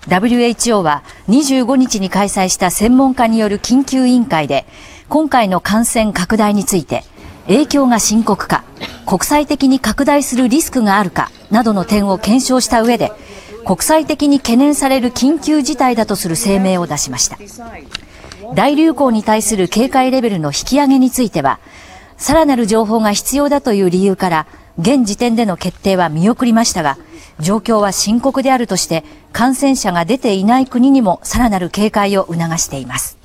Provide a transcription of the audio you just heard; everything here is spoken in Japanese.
WHO は25日に開催した専門家による緊急委員会で、今回の感染拡大について、影響が深刻か、国際的に拡大するリスクがあるかなどの点を検証した上で、国際的に懸念される緊急事態だとする声明を出しました。大流行に対する警戒レベルの引き上げについては、さらなる情報が必要だという理由から、現時点での決定は見送りましたが、状況は深刻であるとして、感染者が出ていない国にもさらなる警戒を促しています。